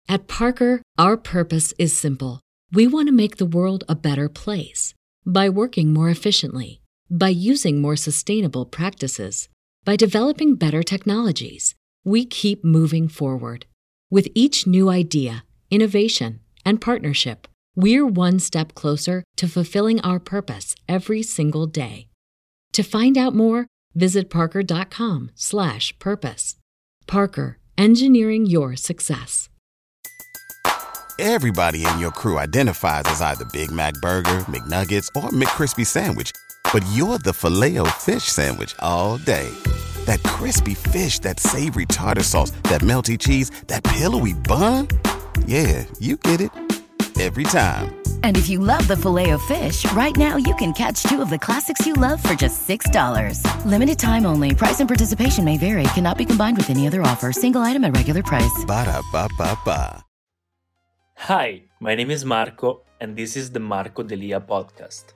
At Parker, our purpose is simple. We want to make the world a better place by working more efficiently, by using more sustainable practices, by developing better technologies. We keep moving forward. With each new idea, innovation, and partnership, we're one step closer to fulfilling our purpose every single day. To find out more, visit parker.com/purpose. Parker, engineering your success. Everybody in your crew identifies as either Big Mac Burger, McNuggets, or McCrispy Sandwich. But you're the Filet-O-Fish Sandwich all day. That crispy fish, that savory tartar sauce, that melty cheese, that pillowy bun. Yeah, you get it. Every time. And if you love the Filet-O-Fish, right now you can catch two of the classics you love for just $6. Limited time only. Price and participation may vary. Cannot be combined with any other offer. Single item at regular price. Ba-da-ba-ba-ba. Hi, my name is Marco, and this is the Marco Delia podcast.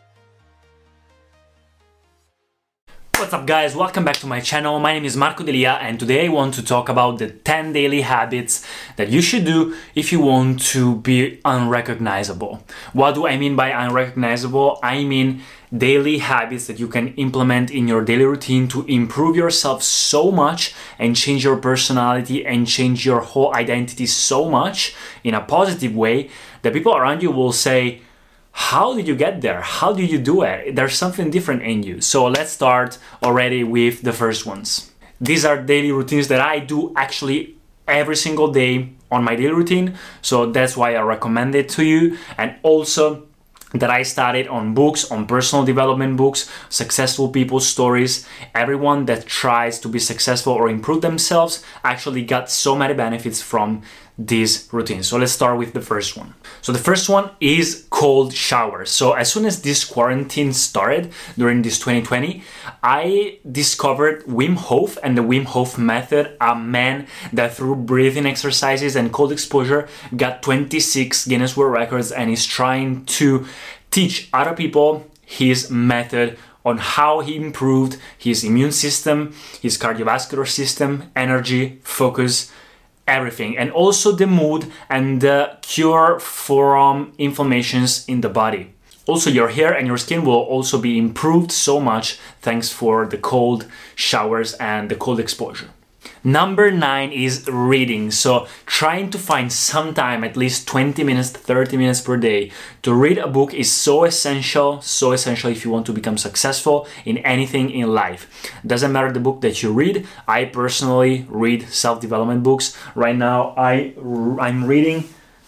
What's up, guys? Welcome back to my channel. My name is Marco Delia, and today I want to talk about the 10 daily habits that you should do if you want to be unrecognizable. What do I mean by unrecognizable? I mean daily habits that you can implement in your daily routine to improve yourself so much and change your personality and change your whole identity so much in a positive way that people around you will say, how did you get there? How did you do it? There's something different in you. So let's start already with the first ones. These are daily routines that I do actually every single day on my daily routine. So that's why I recommend it to you. And also that I studied on books, on personal development books, successful people's stories. Everyone that tries to be successful or improve themselves actually got so many benefits from these routines. So let's start with the first one. So the first one is cold showers. So as soon as this quarantine started during this 2020, I discovered Wim Hof and the Wim Hof method, a man that through breathing exercises and cold exposure got 26 Guinness World Records and is trying to teach other people his method on how he improved his immune system, his cardiovascular system, energy, focus, everything, and also the mood and the cure from inflammations in the body. Also, your hair and your skin will also be improved so much thanks for the cold showers and the cold exposure. Number 9 is reading. So trying to find some time, at least 20 minutes, 30 minutes per day to read a book is so essential if you want to become successful in anything in life. Doesn't matter the book that you read. I personally read self-development books. Right now I'm reading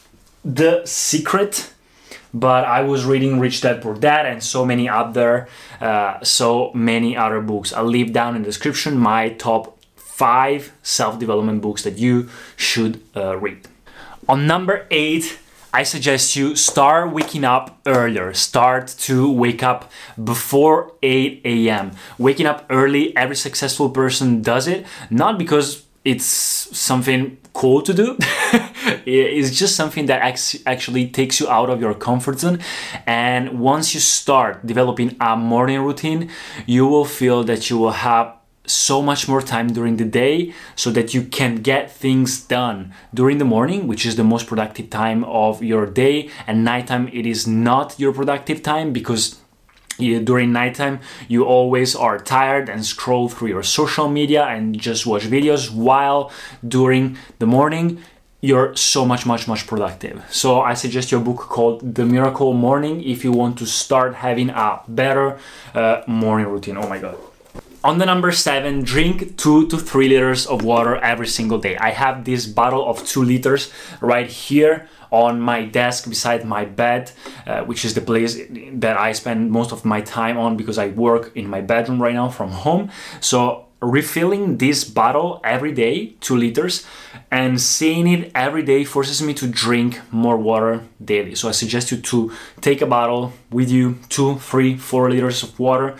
The Secret, but I was reading Rich Dad Poor Dad and so many other books. I'll leave down in the description my top 5 self-development books that you should read. On number 8, I suggest you start waking up earlier. Start to wake up before 8 a.m. Waking up early, every successful person does it, not because it's something cool to do. It's just something that actually takes you out of your comfort zone. And once you start developing a morning routine, you will feel that you will have so much more time during the day so that you can get things done during the morning, which is the most productive time of your day, and nighttime it is not your productive time because during nighttime you always are tired and scroll through your social media and just watch videos, while during the morning you're so much productive. So I suggest your book called The Miracle Morning if you want to start having a better morning routine. Oh my god. On the number 7, drink 2 to 3 liters of water every single day. I have this bottle of 2 liters right here on my desk beside my bed, which is the place that I spend most of my time on because I work in my bedroom right now from home. So refilling this bottle every day, 2 liters, and seeing it every day forces me to drink more water daily. So I suggest you to take a bottle with you, 2, 3, 4 liters of water,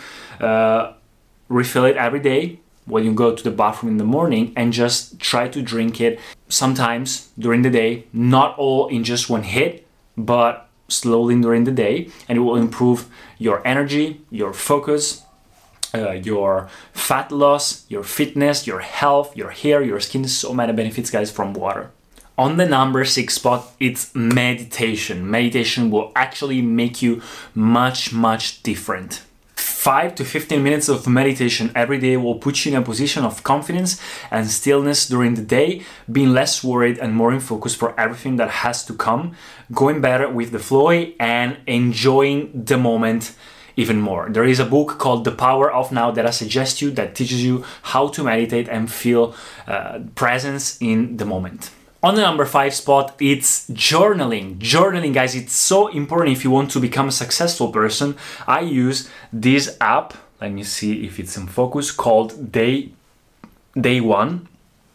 refill it every day when you go to the bathroom in the morning, and just try to drink it sometimes during the day, not all in just one hit, but slowly during the day, and it will improve your energy, your focus, your fat loss, your fitness, your health, your hair, your skin. So many benefits, guys, from water. On the number 6 spot, it's meditation. Meditation will actually make you much different. 5 to 15 minutes of meditation every day will put you in a position of confidence and stillness during the day, being less worried and more in focus for everything that has to come, going better with the flow and enjoying the moment even more. There is a book called The Power of Now that I suggest you that teaches you how to meditate and feel presence in the moment. On the number 5 spot, it's journaling. Journaling, guys, it's so important if you want to become a successful person. I use this app, let me see if it's in focus, called Day One.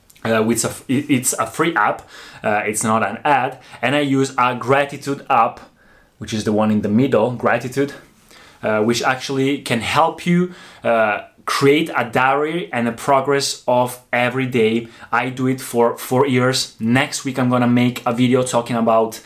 It's a free app, it's not an ad, and I use a gratitude app, which is the one in the middle, gratitude, which actually can help you create a diary and a progress of every day. I do it for 4 years. Next week I'm gonna make a video talking about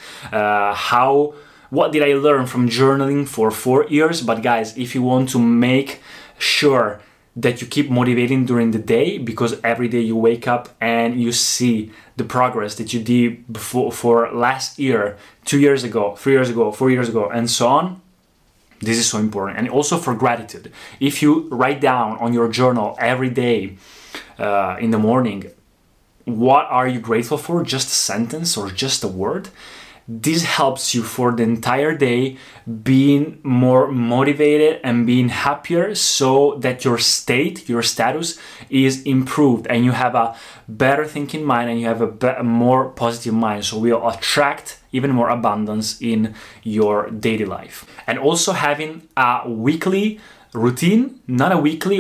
what did I learn from journaling for 4 years. But guys, if you want to make sure that you keep motivating during the day, because every day you wake up and you see the progress that you did before for last year, 2 years ago, 3 years ago, 4 years ago, and so on. This is so important. And also for gratitude. If you write down on your journal every day in the morning, what are you grateful for? Just a sentence or just a word. This helps you for the entire day being more motivated and being happier, so that your status is improved and you have a better thinking mind and you have a more positive mind. So we'll attract even more abundance in your daily life. And also having a weekly routine, not a weekly,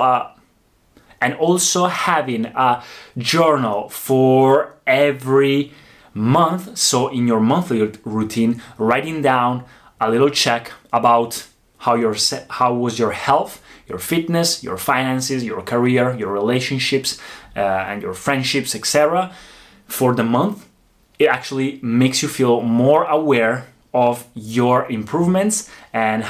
and also having a journal for every month. So in your monthly routine, writing down a little check about how was your health, your fitness, your finances, your career, your relationships, and your friendships, etc. for the month. It actually makes you feel more aware of your improvements and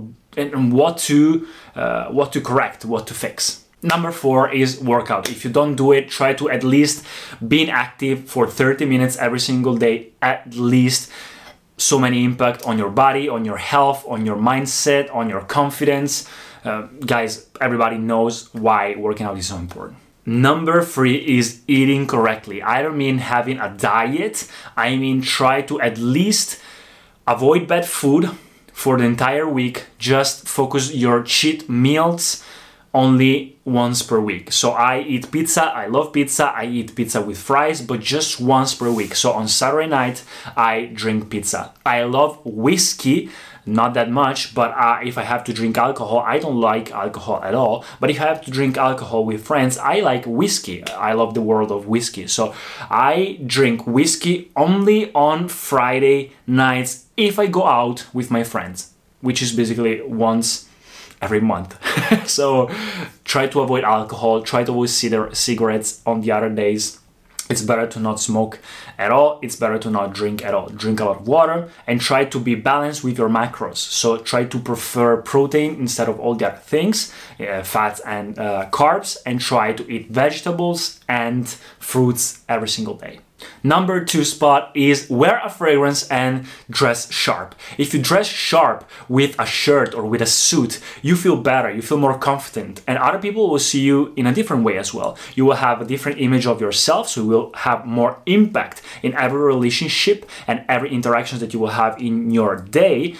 what to correct, what to fix. Number 4 is workout. If you don't do it, try to at least being active for 30 minutes every single day, at least. So many impact on your body, on your health, on your mindset, on your confidence. Guys, everybody knows why working out is so important. Number 3 is eating correctly. I don't mean having a diet. I mean try to at least avoid bad food for the entire week. Just focus your cheat meals only once per week. So I eat pizza, I love pizza, I eat pizza with fries, but just once per week. So on Saturday night, I drink pizza. I love whiskey, not that much, but if I have to drink alcohol, I don't like alcohol at all. But if I have to drink alcohol with friends, I like whiskey. I love the world of whiskey. So I drink whiskey only on Friday nights if I go out with my friends, which is basically once every month. So try to avoid alcohol, try to avoid cigarettes on the other days. It's better to not smoke at all. It's better to not drink at all. Drink a lot of water and try to be balanced with your macros. So try to prefer protein instead of all the other things, fats and carbs, and try to eat vegetables and fruits every single day. Number 2 spot is wear a fragrance and dress sharp. If you dress sharp with a shirt or with a suit, you feel better, you feel more confident, and other people will see you in a different way as well. You will have a different image of yourself, so you will have more impact in every relationship and every interaction that you will have in your day.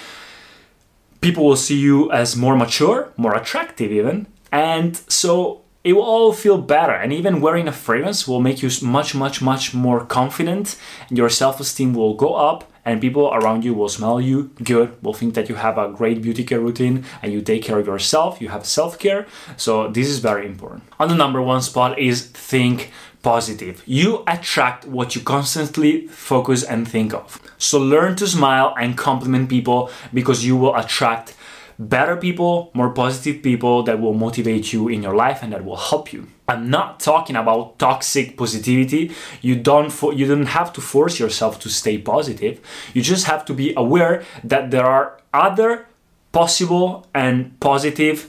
People will see you as more mature, more attractive even, and so it will all feel better. And even wearing a fragrance will make you much more confident. Your self-esteem will go up and people around you will smell you good, will think that you have a great beauty care routine and you take care of yourself, you have self-care. So this is very important. On the number 1 spot is think positive. You attract what you constantly focus and think of. So learn to smile and compliment people, because you will attract better people, more positive people that will motivate you in your life and that will help you. I'm not talking about toxic positivity. You don't have to force yourself to stay positive. You just have to be aware that there are other possible and positive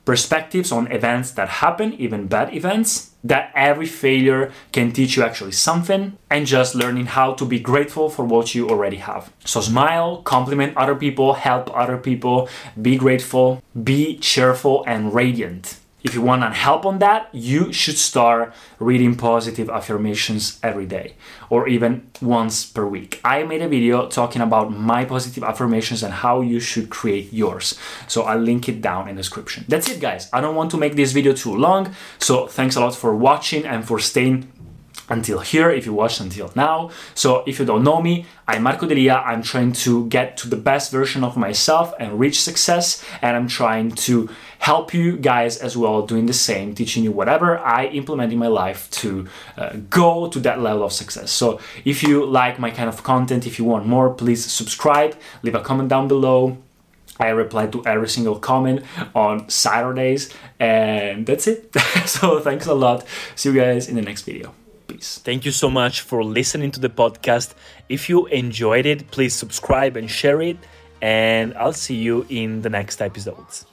perspectives on events that happen, even bad events, that every failure can teach you actually something, and just learning how to be grateful for what you already have. So smile, compliment other people, help other people, be grateful, be cheerful and radiant. If you want help on that, you should start reading positive affirmations every day or even once per week. I made a video talking about my positive affirmations and how you should create yours. So I'll link it down in the description. That's it, guys. I don't want to make this video too long. So thanks a lot for watching and for staying until here, if you watched until now. So if you don't know me, I'm Marco Delia. I'm trying to get to the best version of myself and reach success, and I'm trying to help you guys as well doing the same, teaching you whatever I implement in my life to go to that level of success. So if you like my kind of content, if you want more, please subscribe, leave a comment down below. I reply to every single comment on Saturdays, and that's it. So thanks a lot. See you guys in the next video. Peace. Thank you so much for listening to the podcast. If you enjoyed it, please subscribe and share it, and I'll see you in the next episodes.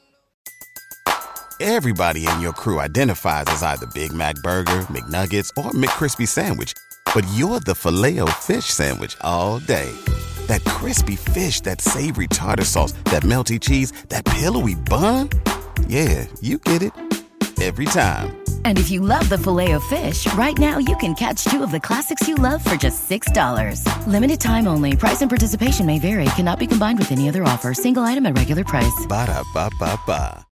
Everybody in your crew identifies as either Big Mac Burger, McNuggets, or McCrispy Sandwich. But you're the Filet-O-Fish Sandwich all day. That crispy fish, that savory tartar sauce, that melty cheese, that pillowy bun. Yeah, you get it. Every time. And if you love the Filet-O-Fish, right now you can catch two of the classics you love for just $6. Limited time only. Price and participation may vary. Cannot be combined with any other offer. Single item at regular price. Ba-da-ba-ba-ba.